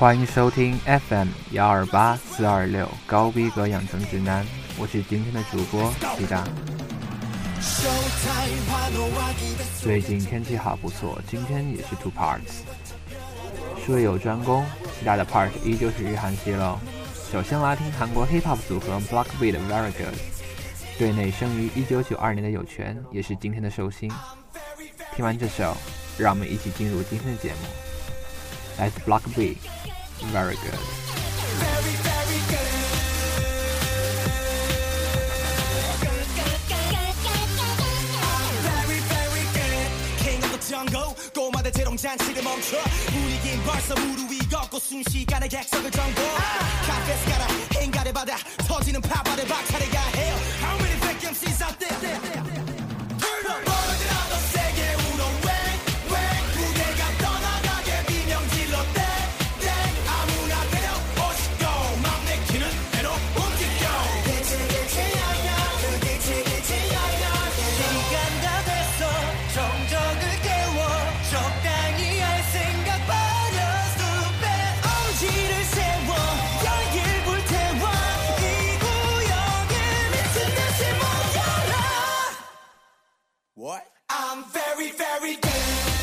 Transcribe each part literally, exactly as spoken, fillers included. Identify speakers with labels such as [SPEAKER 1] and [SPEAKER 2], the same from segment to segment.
[SPEAKER 1] 欢迎收听 F M 幺二八四二六高逼格养成指南，我是今天的主播西大。最近天气好不错，今天也是 two parts。术有专攻，西大的 part 依旧是日韩系喽。首先来听韩国 hip hop 组合 Blockbeat 的 Very Good， 队内生于一九九二年的有权也是今天的寿星。听完这首，让我们一起进入今天的节目。来自 Blockbeat Very Good。
[SPEAKER 2] 꼬마들 재롱잔치를 멈춰 분위긴 벌써 무릎 위 걷고 순식간에 객석을 정보 카페스 가라 행가를 받아 터지는 파바를 박차례가 해요 How many vacancies out there Turn up 벌어지라도 세게 울어 Wang Wang 무대가 떠나가게 비명질러 땡땡 아무나 데려 오시고 맘 내키는 대로 움직여 그치 그치 야야 그치 그치 야야 시간 다 됐어 정적을 깨워 적당히 할 생각 버려 숲에 엄지를 세워 열길 불태워 이 구역에 미친 듯이 모여라 What? I'm very very good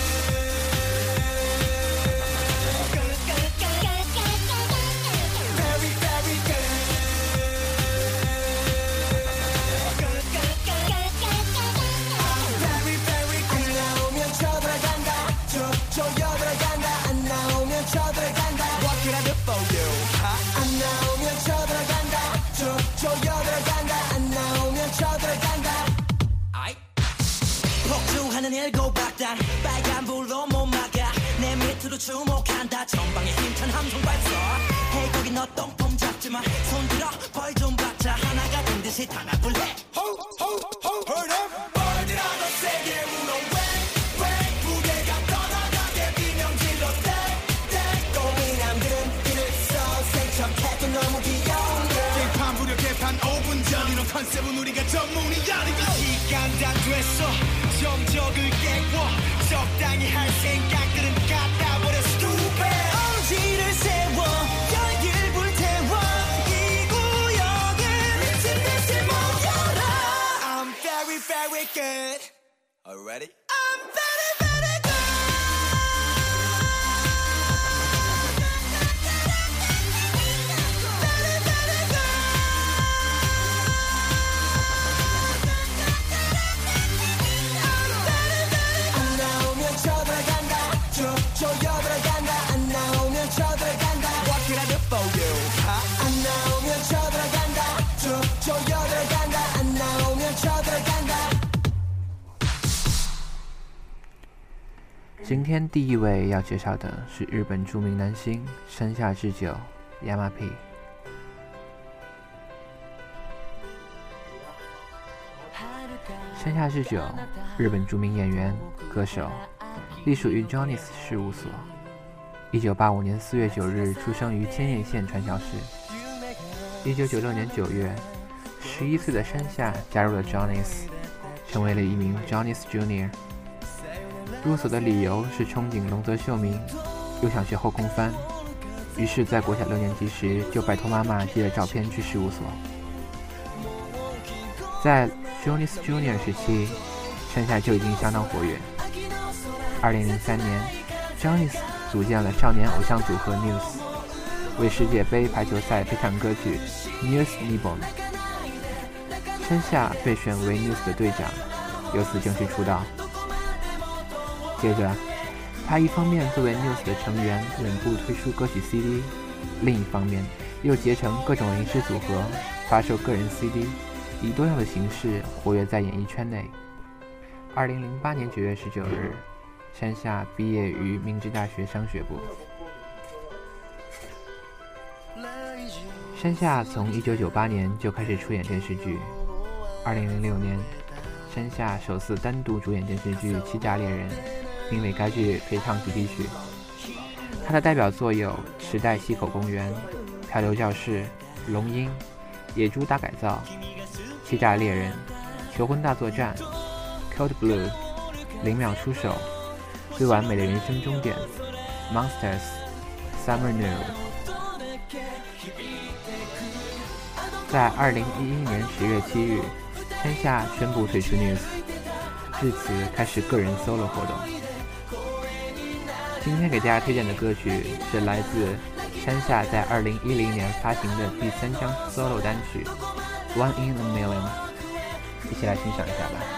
[SPEAKER 2] Very very good I'm very very good 안 나오면 쳐들어간다 조여들어간다 안 나오면 쳐들어간다 What can I do for you? 안 나오면 쳐들어간다 조여들어간다 안 나오면 쳐들어간다 폭주하는 일곱 박단 빨간 불로 못 막아 내 밑으로 주목한다 전방에 힘찬 함성 발사 Hey 거기 너 똥폼 잡지마 손 들어 벌 좀 받자 하나가 된 듯이 단합을 해 Ho ho ho Heard up 벌들아도 세게 울어 Wang Wang 무대가 떠나가게 비명질러 땡땡 꼬미남들은 길을 써 생척해도 너무 귀여운데 개판 부려 개판 오 분 전 이런 컨셉은 우리가 전문이야 시간 다 됐어 정적을 깨워 적당히 할 생각들은 갖다 버려 stupid 엄지를 세워 열길 불태워 이 구역에 미친 듯이 모여라 I'm very very good Already? I'm very very good Very very good 안 나오면 쳐들어간다 조여들어간다 안 나오면 쳐들어간다 What can I do for you? 안 나오면 쳐들어간다 조여들어간다 안 나오면 쳐들어간다
[SPEAKER 1] 今天第一位要介绍的是日本著名男星山下智久 Yamapi。山下智久，日本著名演员、歌手，隶属于 Johnny's 事务所。一九八五年四月九日出生于千叶县传桥市。一九九六年九月，十一岁的山下加入了 Johnny's， 成为了一名 Johnny's Junior。入所的理由是憧憬龙泽秀明，又想学后空翻，于是，在国小六年级时就拜托妈妈寄了照片去事务所。在 Johnny's Junior 时期，山下就已经相当活跃。二零零三年 ，Johnny's 组建了少年偶像组合 News， 为世界杯排球赛配唱歌曲 News Nippon。山下被选为 News 的队长，由此正式出道。接着，他一方面作为 News 的成员稳步推出歌曲 C D， 另一方面又结成各种临时组合，发售个人 C D， 以多样的形式活跃在演艺圈内。二零零八年九月十九日，山下毕业于明治大学商学部。山下从一九九八年就开始出演电视剧。二零零六年，山下首次单独主演电视剧《欺诈猎人》，并为该剧配唱主题曲。他的代表作有《时代西口公园》、《漂流教室》、《龙樱》、《野猪大改造》、《欺诈猎人》、《求婚大作战》、Code Blue、零秒出手、最完美的人生终点、Monsters、 Summer New。在二零一一年十月七日，山下宣布退出 News， 至此开始个人 solo 活动。今天给大家推荐的歌曲是来自山下在二零一零年发行的第三张 solo 单曲 One in a Million， 一起来欣赏一下吧。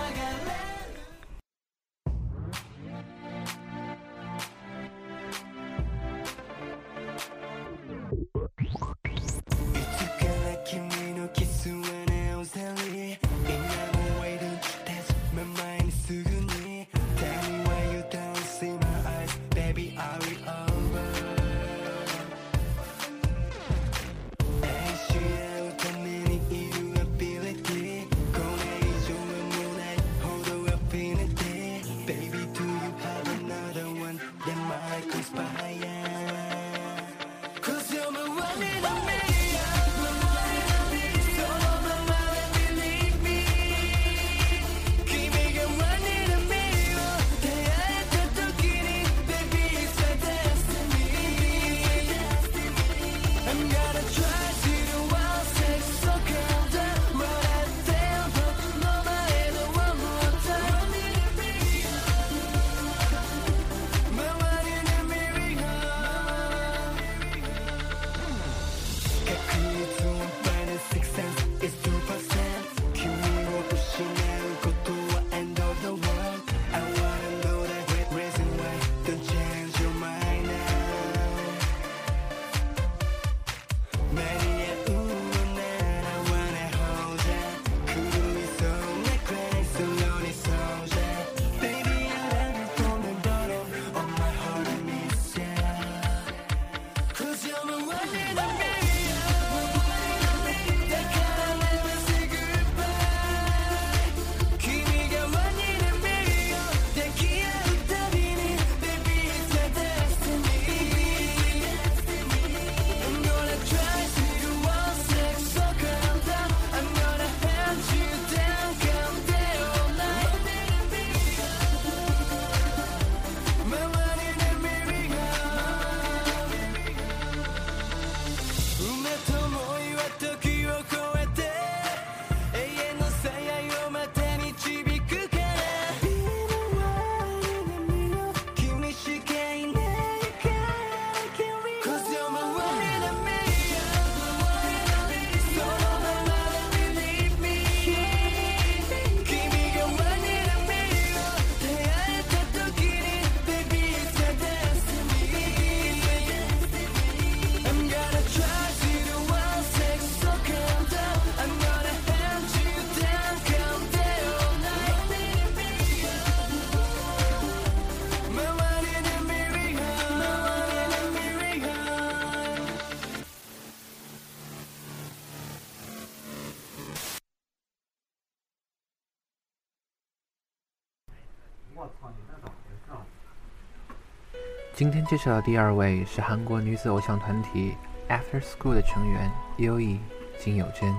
[SPEAKER 1] 今天介绍的第二位是韩国女子偶像团体 After School 的成员 优衣金有珍。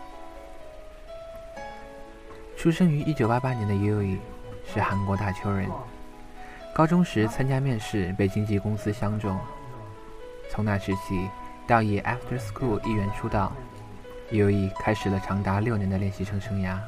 [SPEAKER 1] 出生于一九八八年的优衣是韩国大邱人，高中时参加面试被经纪公司相中，从那时起到以 After School 一员出道，优衣开始了长达六年的练习生生涯。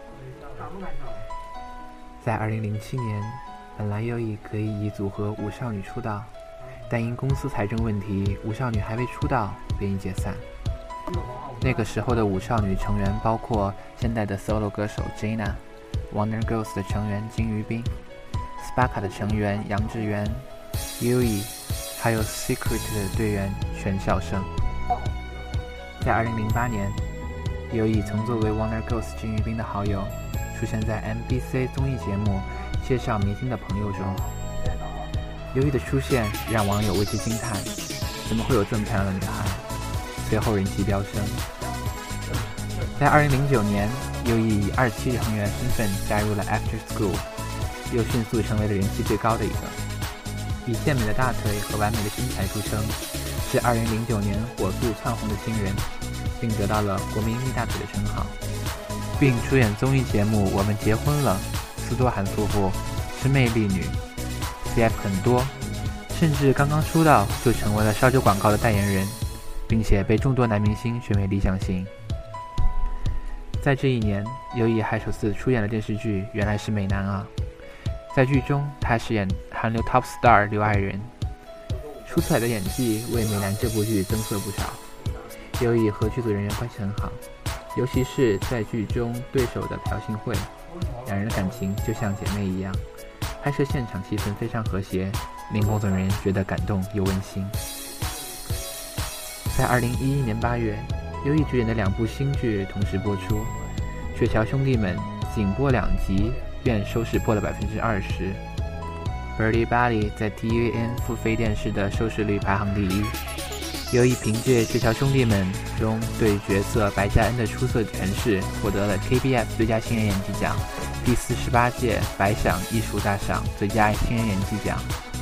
[SPEAKER 1] 在二零零七年，本来优衣可以以组合五少女出道，但因公司财政问题，五少女还未出道便已解散。那个时候的五少女成员包括现代的 solo 歌手 Jina、Wonder Girls 的成员金宇彬、Sparka 的成员杨智媛、优衣，还有 Secret 的队员全孝生。在二零零八年，优衣曾作为 Wonder Girls 金宇彬的好友，出现在 M B C 综艺节目介绍明星的朋友中。优衣的出现让网友为之惊叹，怎么会有这么漂亮的女孩？随后人气飙升。在二零零九年，优衣以二期成员身份加入了 After School， 又迅速成为了人气最高的一个。以健美的大腿和完美的身材著称，是二零零九年火速窜红的新人，并得到了国民蜜大腿的称号，并出演综艺节目《我们结婚了》、斯多罕夫妇、是魅力女、C F 很多、 甚至刚刚出道就成为了烧酒广告的代言人，并且被众多男明星选为理想型。在这一年，优衣还首次出演了电视剧《原来是美男啊》，在剧中他饰演韩流 Top Star 刘爱仁，出彩的演技为《美男》这部剧增色不少。优衣和剧组人员关系很好，尤其是在剧中对手的朴信惠，两人的感情就像姐妹一样，拍摄现场气氛非常和谐，令工作人员觉得感动又温馨。在二零一一年八月，优衣主演的两部新剧同时播出，《鹊桥兄弟们》仅播两集便收视破了百分之二十，《Birdy Body》在 T V N 付费电视的收视率排行第一。优衣凭借《鹊桥兄弟们》中对角色白嘉恩的出色诠释，获得了 K B S 最佳新人演技奖、第四十八届百想艺术大赏最佳新人演技奖。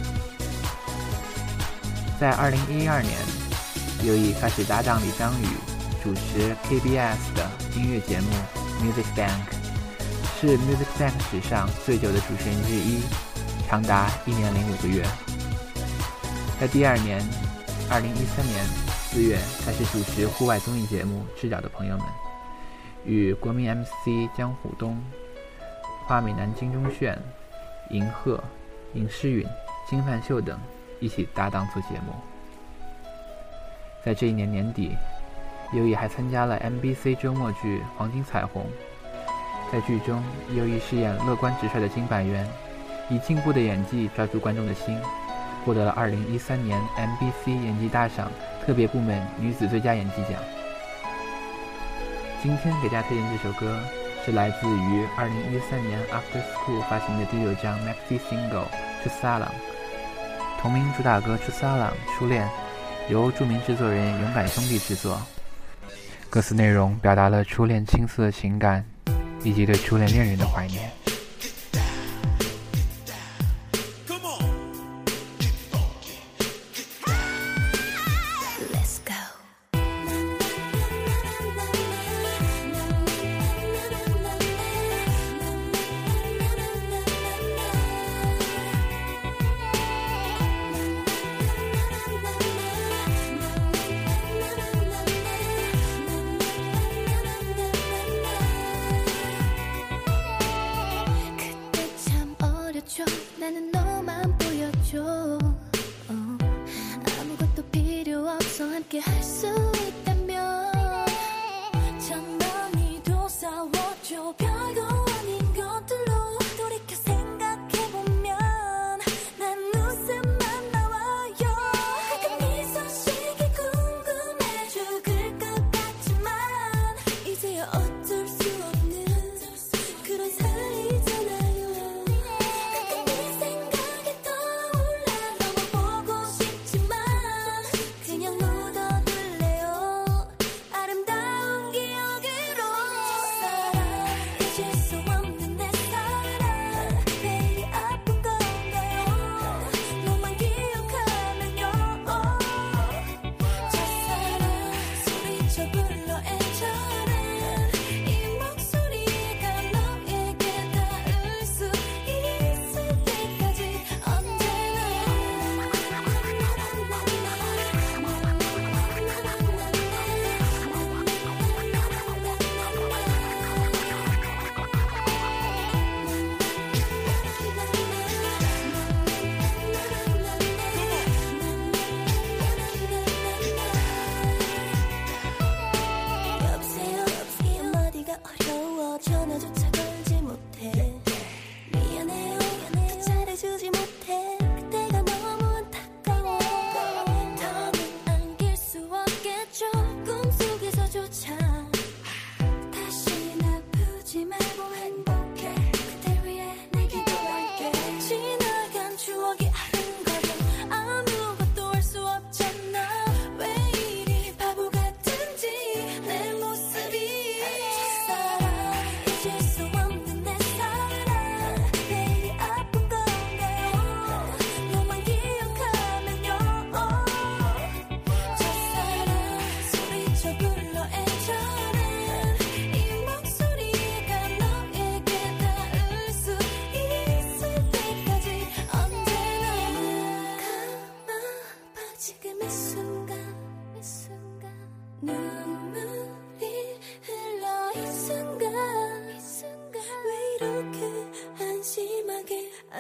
[SPEAKER 1] 在二零一二年，优衣开始搭档李章宇主持 K B S 的音乐节目 Music Bank， 是 Music Bank 史上最久的主持人之一，长达一年零五个月。在第二年二零一三年四月开始主持户外综艺节目《赤脚的朋友们》，与国民 M C 江虎东、花美男金钟铉、银赫、尹诗允、金范秀等一起搭档做节目。在这一年年底，优衣还参加了 M B C 周末剧《黄金彩虹》，在剧中优衣饰演乐观直率的金百元，以进步的演技抓住观众的心，获得了二零一三年 M B C 演技大赏特别部门女子最佳演技奖。今天给大家推荐这首歌是来自于二零一三年 After School 发行的第六张 Maxi Single 出撒朗，同名主打歌出撒朗初恋，由著名制作人勇敢兄弟制作。歌词内容表达了初恋青涩的情感，以及对初恋恋人的怀念。
[SPEAKER 3] 나는 너만 보여줘 어, 아무것도 필요 없어 함께 할 수 있다면 장난이도 싸워줘 별거 아닌 것들로 돌이켜 생각해보면 난 웃음만 나와요 그 네 소식이 궁금해 죽을 것 같지만 이제야 어쩔 수 없는 그런 사이잖아요 전화조차 걸지 못해 미안해요 더 잘해주지 못해 그때가 너무 안타까워 더는 안길 수 없겠죠 꿈속에서조차 다신 아프지 말고 행복해 그댈 위해 내 기도할게 지나간 추억이 아른거려 아무것도 할 수 없잖아 왜 이리 바보 같은지 내 모습이 Just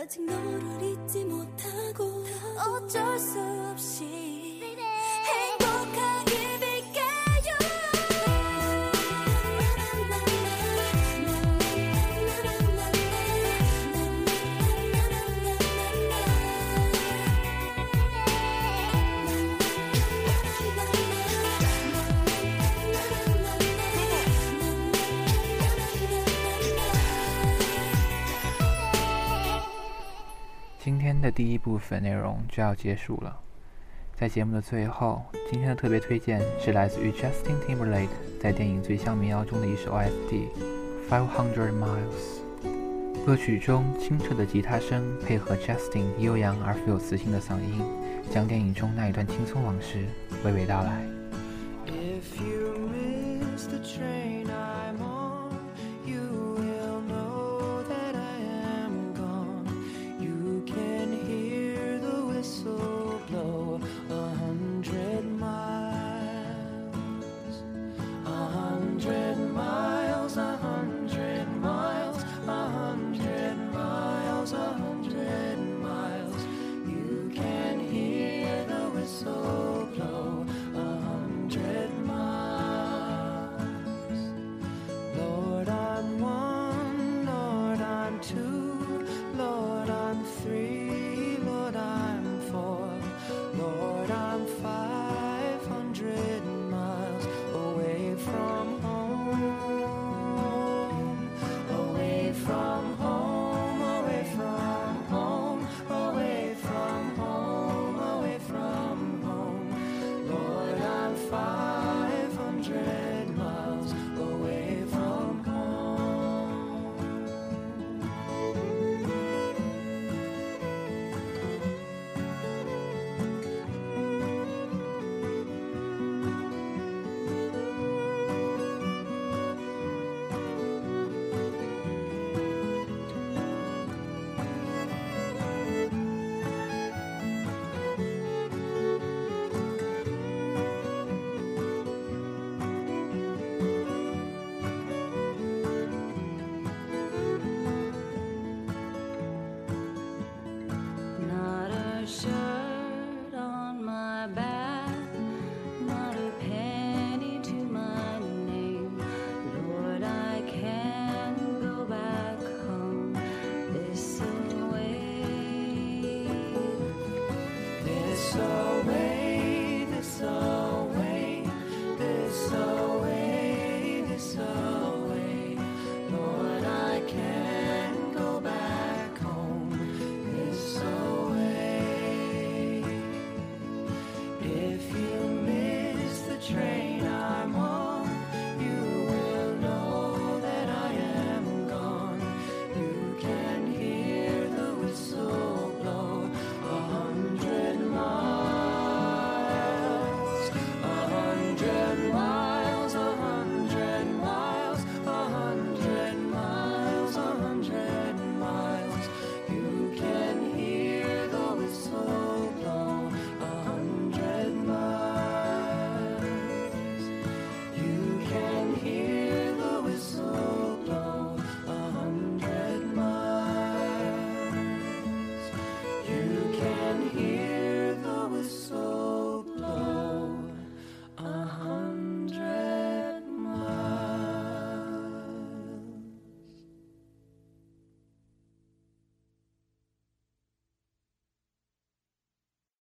[SPEAKER 3] 아직 너를 잊지 못하고 어쩔 수 없이 행복하게 빌게요.
[SPEAKER 1] 今天的第一部分内容就要结束了。在节目的最后，今天的特别推荐是来自于 Justin Timberlake 在电影《最像民谣》中的一首 O S T Five Hundred Miles。歌曲中清澈的吉他声配合 Justin 悠扬而富有磁性的嗓音，将电影中那一段轻松往事娓娓道来。
[SPEAKER 4] If you miss the train